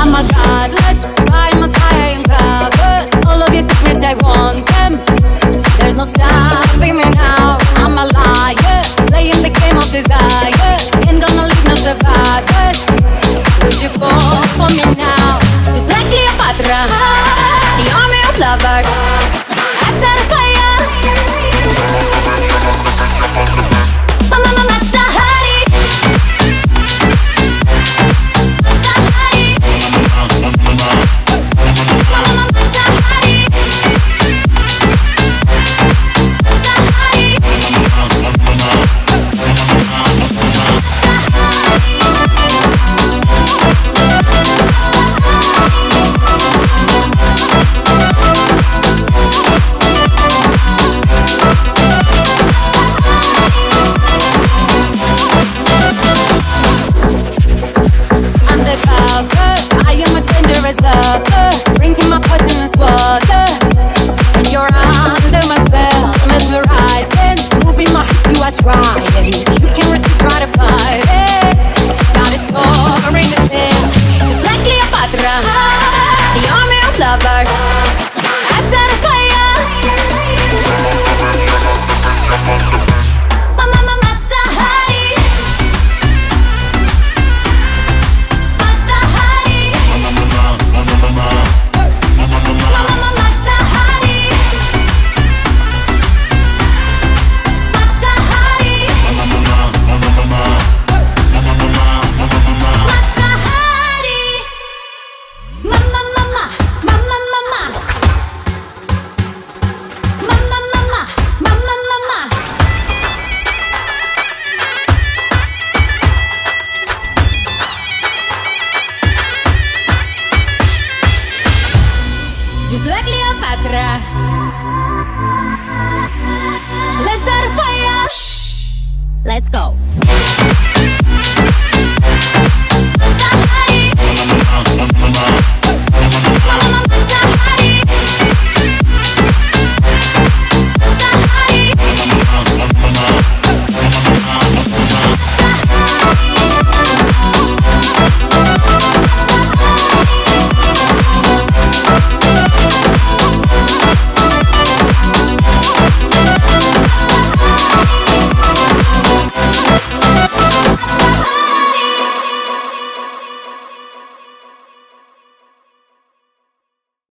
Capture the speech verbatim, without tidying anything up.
my God, let's fly, must I uncover all of your secrets, I want them. There's no stopping me now, I'm a liar, playing the game of desire. Ain't gonna leave no survivors. Would you fall for me now? Just like Cleopatra, the army of lovers. I set a fire. Mama, mama, Tahari. Tahari. Mama, mama, Tahari. I am a dangerous lover, drinking my poisonous water. And you're under my spell, mesmerizing, moving my hips, you are trying. You can resist, try to fight it. Got it soaring the tail, just like Cleopatra, the army of lovers. I set a fire. Mama, mama, Tahari. Just like Cleopatra, let's start a fire. Let's go.